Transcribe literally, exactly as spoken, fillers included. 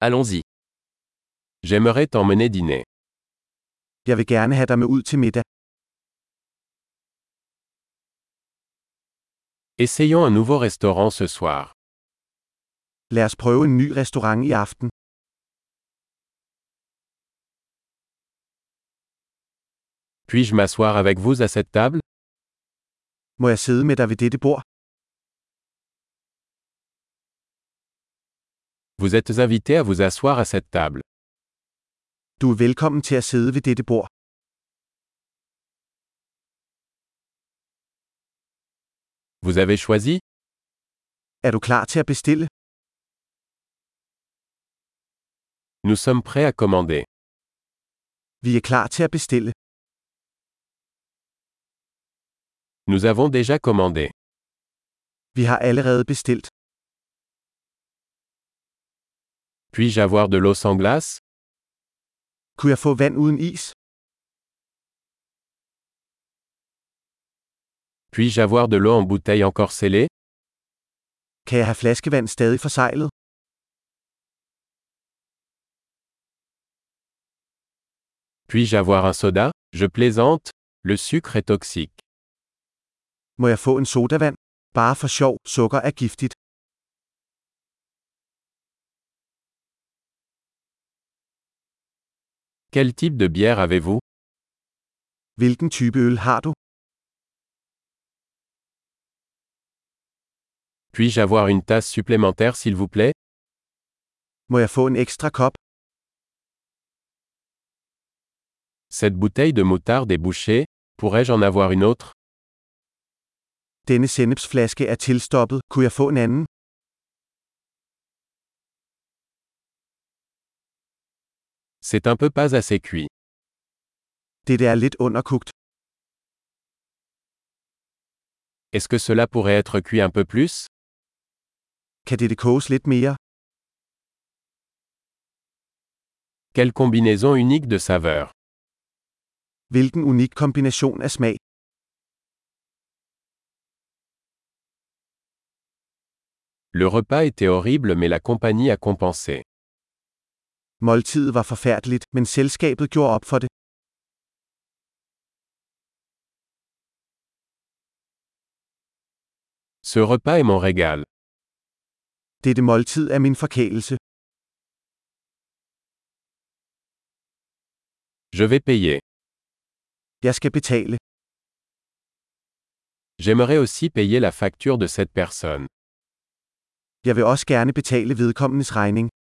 Allons-y. J'aimerais t'emmener dîner. Jeg vil gerne have dig med ud til middag. Essayons un nouveau restaurant ce soir. Lad os prøve en ny restaurant i aften. Puis-je m'asseoir avec vous à cette table? Må jeg sidde med dig ved dette bord? Vous êtes invité à vous asseoir à cette table. Du er velkommen til at sidde ved dette bord. Vous avez choisi? Er du klar til at bestille? Nous sommes prêts à commander. Vi er klar til at bestille. Nous avons déjà commandé. Vi har allerede bestilt. Puis-je avoir de l'eau sans glace? Kunne jeg få vand uden is? Puis-je avoir de l'eau en bouteille encore scellée? Kan jeg have flaskevand stadig forseglet? Puis-je avoir un soda? Je plaisante, le sucre est toxique. Må jeg få en sodavand? Bare for sjov, sukker er giftigt. Quel type de bière avez-vous? Hvilken type øl har du? Puis-je avoir une tasse supplémentaire s'il vous plaît? Må jeg få en ekstra kop? Cette bouteille de moutarde est bouchée, pourrais-je en avoir une autre? Denne sennepsflaske er tilstoppet, kunne jeg få en anden? C'est un peu pas assez cuit. Dette er lidt underkogt. Est-ce que cela pourrait être cuit un peu plus? Kan dette koges lidt mere? Quelle combinaison unique de saveurs. Hvilken unik kombination af smag. Le repas était horrible mais la compagnie a compensé. Måltidet var forfærdeligt, men selskabet gjorde op for det. Ce repas est mon régal. Dette måltid er min forkælelse. Je vais payer. Jeg skal betale. J'aimerais aussi payer la facture de cette personne. Jeg vil også gerne betale vedkommendes regning.